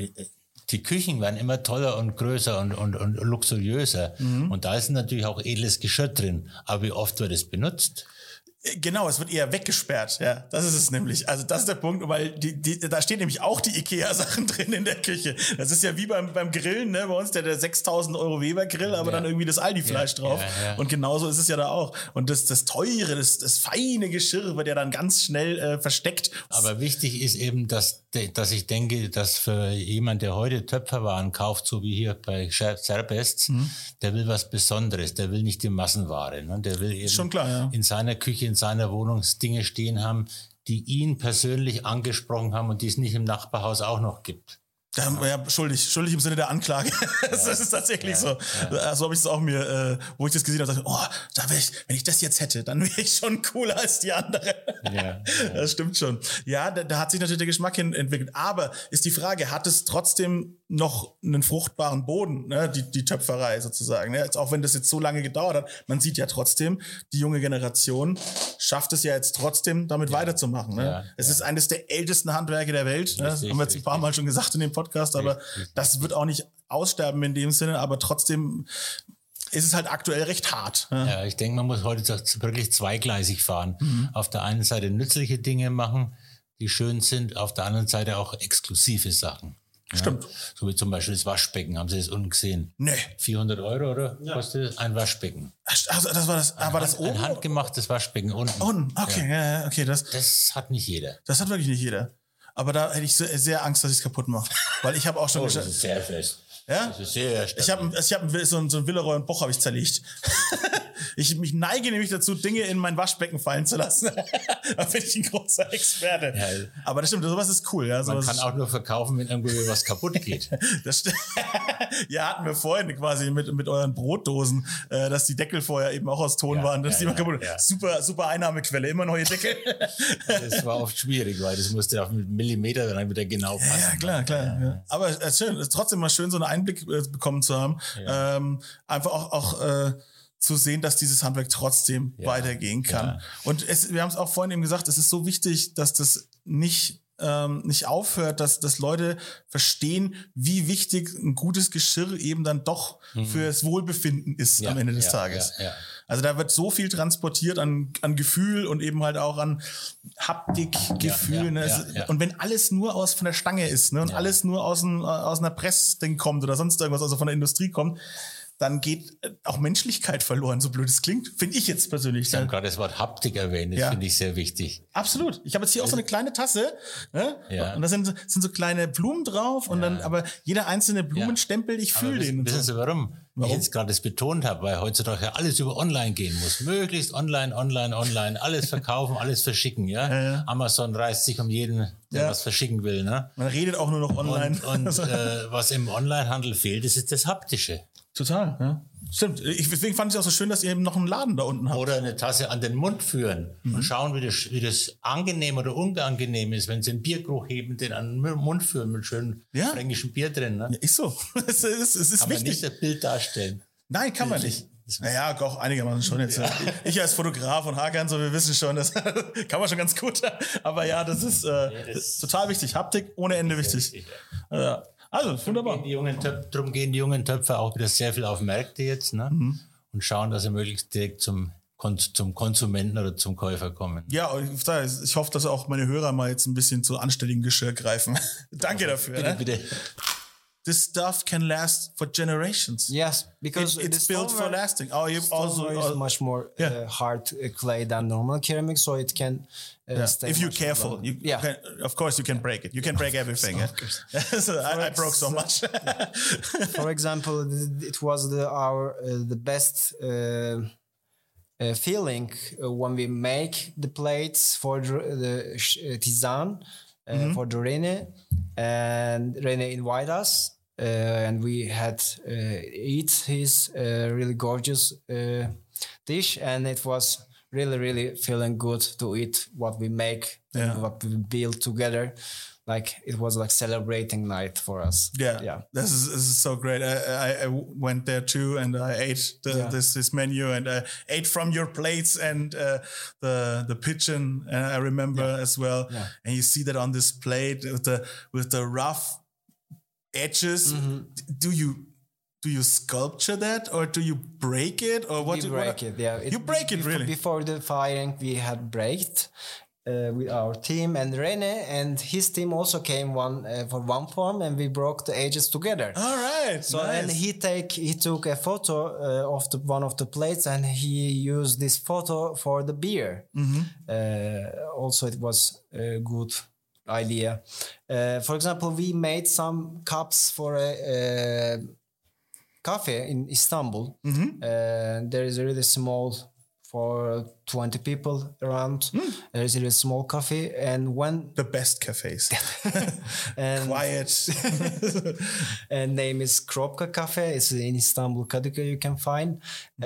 die Küchen werden immer toller und größer und luxuriöser. Und da ist natürlich auch edles Geschirr drin. Aber wie oft wird es benutzt? Genau, es wird eher weggesperrt. Ja, das ist es nämlich. Also das ist der Punkt, weil da stehen nämlich auch die Ikea-Sachen drin in der Küche. Das ist ja wie beim Grillen, ne? Bei uns der 6.000 € Weber-Grill, aber dann irgendwie das Aldi-Fleisch drauf. Ja. Und genauso ist es ja da auch. Und das teure, das feine Geschirr wird ja dann ganz schnell versteckt. Aber wichtig ist eben, dass ich denke, dass für jemand, der heute Töpferwaren kauft, so wie hier bei Serbest, der will was Besonderes, der will nicht die Massenware. Ne? Der will eben schon klar, ja. in seiner Küche, in seiner Wohnung Dinge stehen haben, die ihn persönlich angesprochen haben und die es nicht im Nachbarhaus auch noch gibt. Ja, schuldig im Sinne der Anklage. Das ist tatsächlich so. So habe ich es auch mir, wo ich das gesehen habe, dachte, wenn ich das jetzt hätte, dann wäre ich schon cooler als die andere. Ja. Das stimmt schon. Ja, da hat sich natürlich der Geschmack hin entwickelt. Aber ist die Frage, hat es trotzdem noch einen fruchtbaren Boden, ne? die Töpferei sozusagen. Ne? Jetzt, auch wenn das jetzt so lange gedauert hat, man sieht ja trotzdem, die junge Generation schafft es ja jetzt trotzdem, damit weiterzumachen. Ne? Es ist eines der ältesten Handwerke der Welt. Ne? Das haben wir jetzt ein paar Mal schon gesagt in dem Podcast, aber das wird auch nicht aussterben in dem Sinne, aber trotzdem ist es halt aktuell recht hart. Ne? Ja, ich denke, man muss heute wirklich zweigleisig fahren. Auf der einen Seite nützliche Dinge machen, die schön sind, auf der anderen Seite auch exklusive Sachen. Stimmt. Ja, so wie zum Beispiel das Waschbecken, haben Sie das unten gesehen? Nee. 400 € oder kostet es? Ein Waschbecken. Also das war das, war das oben? Ein handgemachtes Waschbecken unten. Okay, ja, okay. Das hat nicht jeder. Das hat wirklich nicht jeder. Aber da hätte ich sehr Angst, dass ich es kaputt mache. Weil ich habe auch schon das ist sehr fest. Ja? Das ist sehr stabil. Ich hab so ein Villeroy und Boch habe ich zerlegt. Ich neige nämlich dazu, Dinge in mein Waschbecken fallen zu lassen. Da bin ich ein großer Experte. Ja. Aber das stimmt, sowas ist cool. Ja, man kann auch nur verkaufen, wenn irgendwo was kaputt geht. Das stimmt. Ja, hatten wir vorhin quasi mit euren Brotdosen, dass die Deckel vorher eben auch aus Ton waren. Dass die immer kaputt. Ja. Super Einnahmequelle, immer neue Deckel. Das war oft schwierig, weil das musste auf Millimeter dann wieder genau passen. Ja, klar. Ja. Aber es ist schön, es ist trotzdem mal schön, so einen Einblick bekommen zu haben. Ja. Einfach auch zu sehen, dass dieses Handwerk trotzdem weitergehen kann. Ja. Und wir haben es auch vorhin eben gesagt, es ist so wichtig, dass das nicht aufhört, dass Leute verstehen, wie wichtig ein gutes Geschirr eben dann doch fürs Wohlbefinden ist am Ende des Tages. Ja. Also da wird so viel transportiert an Gefühl und eben halt auch an Haptikgefühl. Und wenn alles nur von der Stange ist, ne, und alles nur aus einer Pressding kommt oder sonst irgendwas, also von der Industrie kommt, dann geht auch Menschlichkeit verloren, so blöd es klingt, finde ich jetzt persönlich. Sie haben gerade das Wort Haptik erwähnt, das finde ich sehr wichtig. Absolut. Ich habe jetzt hier auch so eine kleine Tasse, ne? Und da sind so kleine Blumen drauf und dann, aber jeder einzelne Blumenstempel, ich fühle den. Wissen Sie warum? Ich jetzt gerade das betont habe, weil heutzutage ja alles über online gehen muss. Möglichst online, alles verkaufen, alles verschicken, ja? Amazon reißt sich um jeden, der was verschicken will, ne? Man redet auch nur noch online. Und was im Onlinehandel fehlt, das ist das Haptische. Total, ja. Stimmt. Deswegen fand ich auch so schön, dass ihr eben noch einen Laden da unten habt. Oder eine Tasse an den Mund führen und schauen, wie das angenehm oder unangenehm ist, wenn sie einen Biergeruch heben, den an den Mund führen mit schönem fränkischem Bier drin. Ne? Ja, ist so. Es ist wichtig. Kann man nicht das Bild darstellen. Nein, kann man nicht. Naja, auch einigermaßen schon jetzt. Ja. Ich als Fotograf und Hakan, so, wir wissen schon, das kann man schon ganz gut. Aber ja, das ist total wichtig. Haptik ohne Ende wichtig. Ja. Also, wunderbar. Darum gehen die jungen Töpfer auch wieder sehr viel auf Märkte jetzt, ne? Und schauen, dass sie möglichst direkt zum Konsumenten oder zum Käufer kommen. Ja, ich hoffe, dass auch meine Hörer mal jetzt ein bisschen zu anständigem Geschirr greifen. Danke dafür. Bitte. This stuff can last for generations. Yes, because it's built for lasting. Oh, you also is much more hard clay than normal ceramic, so it can stay. If you're careful, can, of course, you can break it. You can break everything. So I broke so much. For example, it was the best feeling when we make the plates for the Tizan for the Rene, and Rene invited us. And we had eat his really gorgeous dish, and it was really feeling good to eat what we make and what we build together. Like it was like celebrating night for us. Yeah. This is so great. I went there too, and I ate this menu, and I ate from your plates and the pigeon. I remember as well. Yeah. And you see that on this plate with the rough edges. Do you sculpture that, or do you break it, or what? We break it. Yeah, you break it really. Before the firing, we had braked with our team, and Rene and his team also came for one form, and we broke the edges together. All right. So nice. And he took a photo of one of the plates, and he used this photo for the beer. Also, it was a good idea. For example, we made some cups for a cafe in Istanbul. There is a really small, for 20 people around. There is a really small cafe, and when the best cafes, and quiet, and name is Kropka Cafe. It's in Istanbul, Kadıköy. You can find.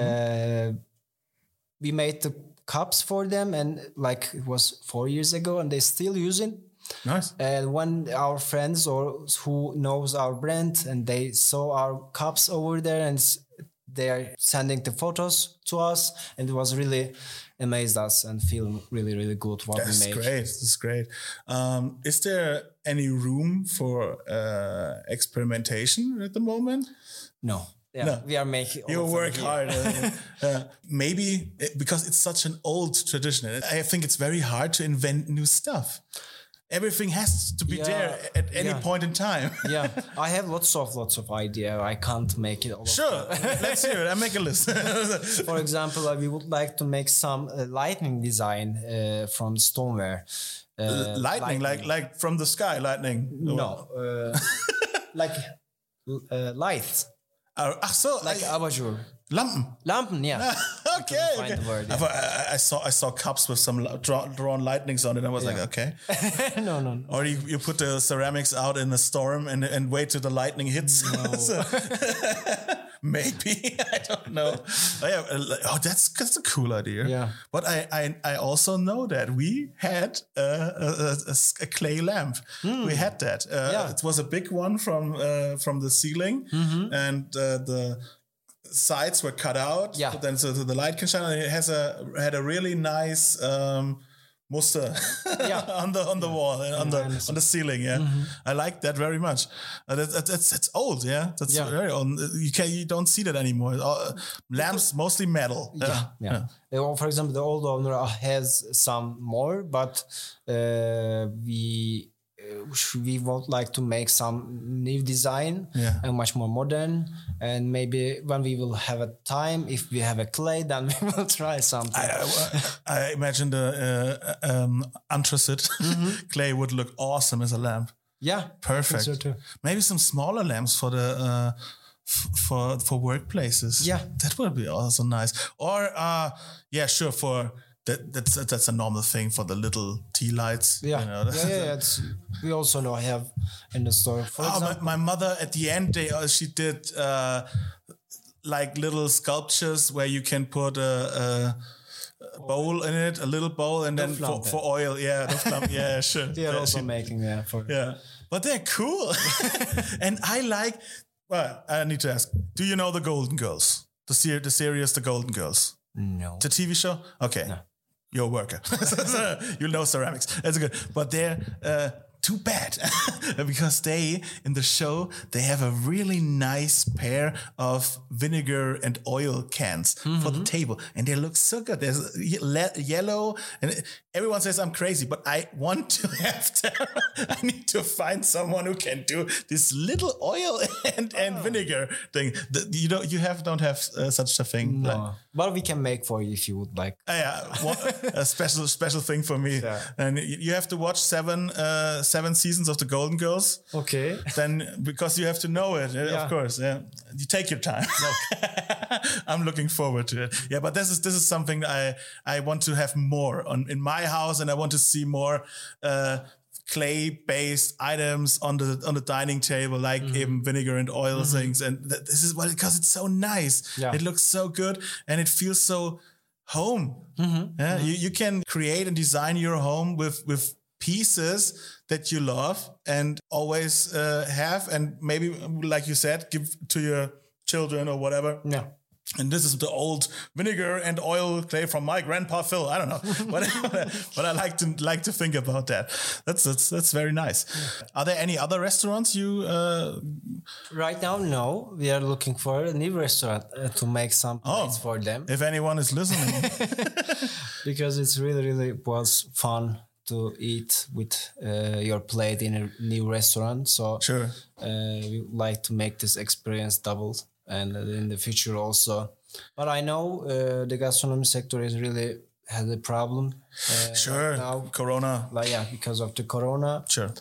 We made the cups for them, and like it was 4 years ago, and they still use it. Nice. And when our friends or who knows our brand and they saw our cups over there, and they are sending the photos to us, and it was really amazed us and feel really good what we made. That's great. Is there any room for experimentation at the moment? No. Yeah, no. We are making. You work hard. Maybe because it's such an old tradition. I think it's very hard to invent new stuff. Everything has to be there at any point in time. I have lots of idea. I can't make it all. Sure, let's hear it. I make a list. For example, we would like to make some lightning design from stoneware. Lightning, like from the sky, lightning. No, lights. Ach so, Like abajur. Lampen. Yeah. Okay. Find the word, yeah. I saw cups with some drawn lightnings on it. I was like, okay. No. Or you put the ceramics out in a storm and wait till the lightning hits. No. Maybe. I don't know. That's a cool idea. Yeah. But I also know that we had a clay lamp. We had that. It was a big one from the ceiling, and the sides were cut out. Yeah. Then so the light can shine. And it had a really nice muster on the wall and on the ceiling. Yeah, I like that very much. That's old. Yeah, that's very old. You don't see that anymore. Lamps mostly metal. Yeah. For example, the old owner has some more, but we would like to make some new design and much more modern. And maybe when we will have a time, if we have a clay, then we will try something. I imagine the anthracite clay would look awesome as a lamp. Yeah, perfect. I think so too. Maybe some smaller lamps for the for workplaces. Yeah, that would be also nice. Or sure for. That's a normal thing for the little tea lights. Yeah, you know? We also have in the store. For example, my mother at the end she did like little sculptures where you can put a bowl in it, a little bowl, and then for oil. Yeah, sure. They are also making but they're cool, and I like. Well, I need to ask: do you know the Golden Girls? The series, The Golden Girls. No. The TV show? Okay. No. You're a worker. You know ceramics. That's good. But they're too bad because in the show, they have a really nice pair of vinegar and oil cans for the table. And they look so good. There's yellow. And everyone says I'm crazy, but I want to have them. I need to find someone who can do this little oil and vinegar thing. You don't have such a thing. No. But we can make for you if you would like. A special thing for me. Yeah. And you have to watch seven seasons of the Golden Girls. Okay. Then because you have to know it, of course. Yeah. You take your time. I'm looking forward to it. Yeah, but this is something I want to have more in my house, and I want to see more clay-based items on the dining table, like even vinegar and oil things. And this is because it's so nice. Yeah. It looks so good, and it feels so home. You can create and design your home with pieces that you love and always have, and maybe, like you said, give to your children or whatever. Yeah. And this is the old vinegar and oil clay from my grandpa Phil. I don't know, but I like to think about that. That's very nice. Yeah. Are there any other restaurants you? Right now, no. We are looking for a new restaurant to make some plates for them. If anyone is listening, because it's really was fun to eat with your plate in a new restaurant. So sure, we like to make this experience double. And in the future also. But I know the gastronomy sector is really has a problem. Sure, now, Corona. Because of the Corona. Sure.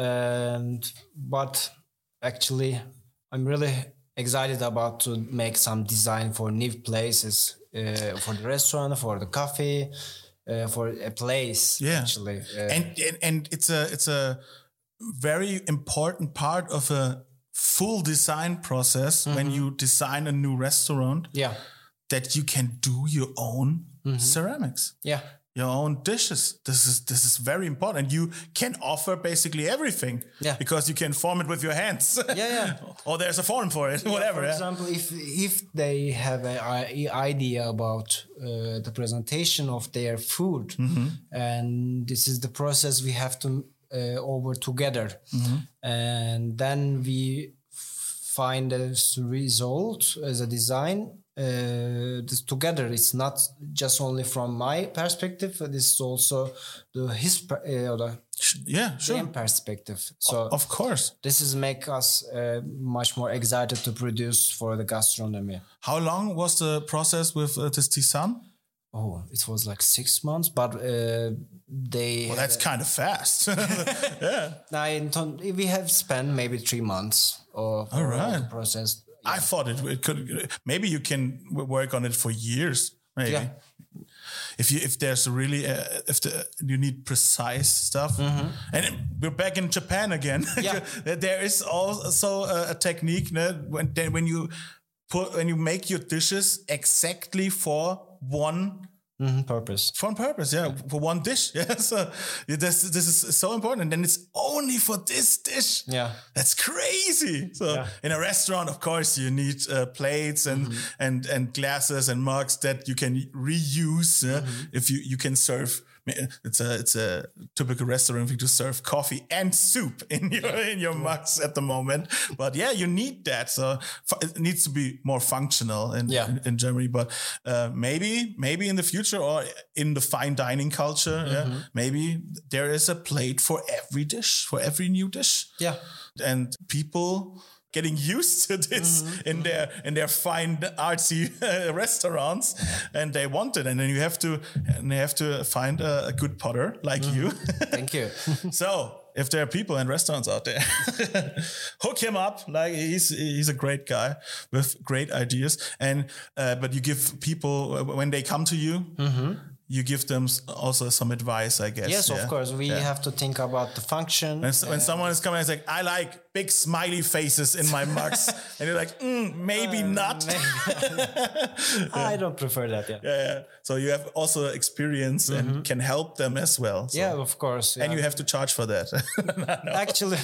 But actually, I'm really excited about to make some design for new places, for the restaurant, for the coffee, for a place. Yeah. Actually, and it's a very important part of a full design process when you design a new restaurant. Yeah, that you can do your own ceramics. Yeah, your own dishes. This is very important. And you can offer basically everything. Yeah, because you can form it with your hands. Yeah. Or there's a form for it. Whatever. For example, if they have an idea about the presentation of their food, and this is the process we have to over together, and then we find this result as a design this together. It's not just only from my perspective, this is also the same perspective. So of course this is make us much more excited to produce for the gastronomy. How long was the process with this Tisan? it was like 6 months, but they. Well, that's kind of fast. We have spent maybe 3 months for the process. I thought it could. Maybe you can work on it for years. Maybe. Yeah. If there's really you need precise stuff, and we're back in Japan again. Yeah. There is also a technique when you make your dishes exactly for one. Purpose. For one dish. Yeah, so this is so important, and then it's only for this dish. Yeah, that's crazy. So in a restaurant, of course, you need plates and glasses and mugs that you can reuse. If you can serve. It's a typical restaurant thing to serve coffee and soup in your mugs at the moment. But you need that. So it needs to be more functional in Germany. But maybe in the future or in the fine dining culture, maybe there is a plate for every dish, for every new dish. Yeah, and people getting used to this in their fine artsy restaurants, and they want it, and then you have to find a good potter like you. Thank you. So if there are people in restaurants out there, hook him up. Like he's a great guy with great ideas, and but you give people when they come to you. You give them also some advice, I guess. Yes, of course. We have to think about the function. When someone is coming and is like, I like big smiley faces in my mugs. And you're like, maybe not. I don't prefer that, Yeah. So you have also experience and can help them as well. So. Yeah, of course. Yeah. And you have to charge for that. No. Actually...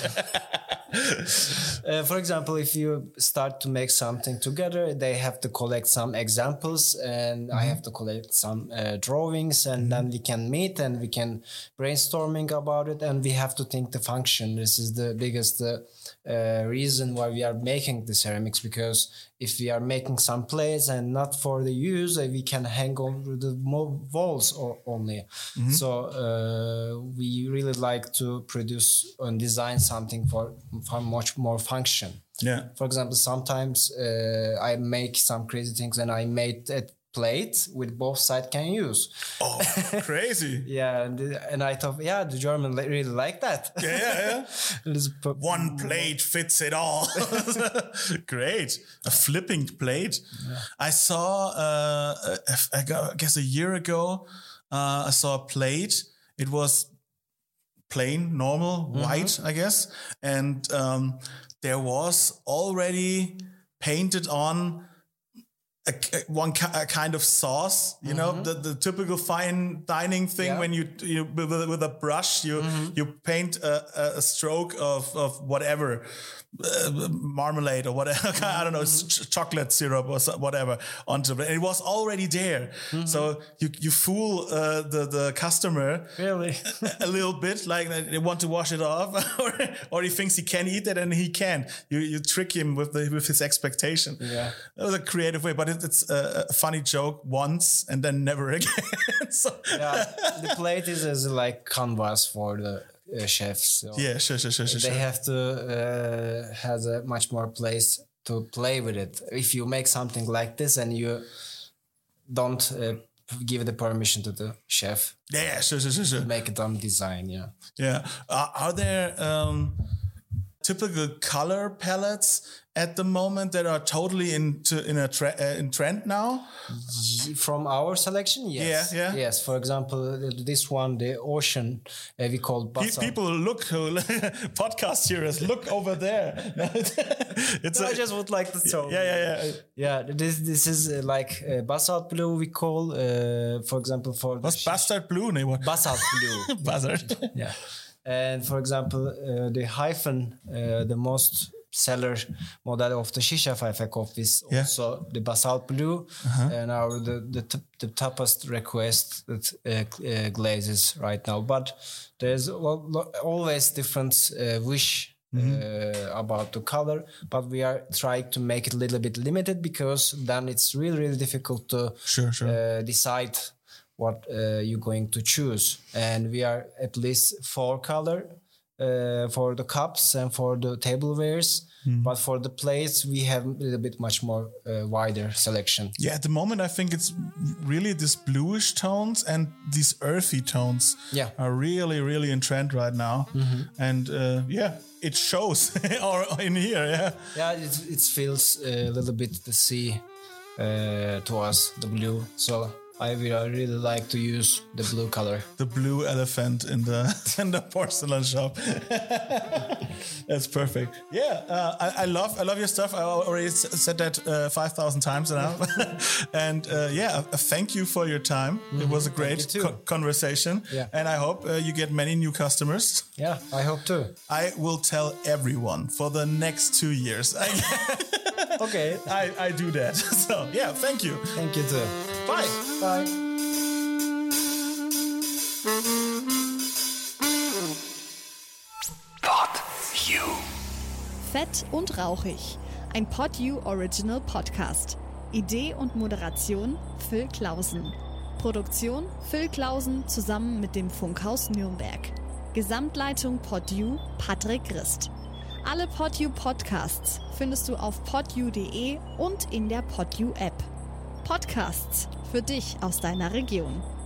for example, if you start to make something together, they have to collect some examples, and I have to collect some drawings, and then we can meet and we can brainstorming about it, and we have to think the function. This is the biggest reason why we are making the ceramics, because if we are making some plates and not for the use, we can hang over the walls only. So we really like to produce and design something for much more function. Yeah. For example, sometimes I make some crazy things, and I made a plate with both sides can use. Oh, crazy. Yeah, and I thought, the German really like that. Yeah. One plate fits it all. Great. A flipping plate. Yeah. I saw, I guess a year ago, I saw a plate. It was plain, normal, white, I guess. And there was already painted on a kind of sauce, you know, the typical fine dining thing when you with a brush you paint a stroke of whatever marmalade or whatever, I don't know, chocolate syrup or whatever onto it. And it was already there. So you fool the customer really a little bit, like they want to wash it off, or he thinks he can eat it and he can. You trick him with his expectation. Yeah, that was a creative way, but it's a funny joke once and then never again. So. Yeah, the plate is like canvas for the chefs. So sure. They have to have a much more place to play with it. If you make something like this and you don't give the permission to the chef, sure. Make it on design. Yeah. Are there typical color palettes at the moment that are totally in trend now? From our selection, yes. Yeah. Yes, for example, this one, the ocean, we call basalt. People look, podcast hearers, look over there. I just would like to show. Yeah, this is like basalt blue, we call, for example, for... What's bastard blue? Basalt blue. Basalt. Yeah. And for example, the hyphen, the most seller model of the Shisha Pfeife coffee is also the basalt blue, and the toughest request that glazes right now. But there's always different wish about the color, but we are trying to make it a little bit limited, because then it's really difficult to decide what you're going to choose. And we are at least 4 color for the cups and for the tablewares. But for the plates, we have a little bit much more wider selection. Yeah, at the moment, I think it's really this bluish tones and these earthy tones are really, really in trend right now. And it shows in here. Yeah, it feels a little bit the sea to us, the blue. So I really like to use the blue color. The blue elephant in the porcelain shop. That's perfect. Yeah, I love your stuff. I already said that 5,000 times now. And thank you for your time. It was a great conversation. Yeah. And I hope you get many new customers. Yeah, I hope too. I will tell everyone for the next 2 years. Okay. I do that. So, yeah, thank you. Thank you too. Bye. Bye. Pod You. Fett und rauchig. Ein Pod You Original Podcast. Idee und Moderation Phil Clausen. Produktion Phil Clausen zusammen mit dem Funkhaus Nürnberg. Gesamtleitung Pod You Patrick Christ. Alle Pod You Podcasts findest du auf podyou.de und in der Pod You App. Podcasts für dich aus deiner Region.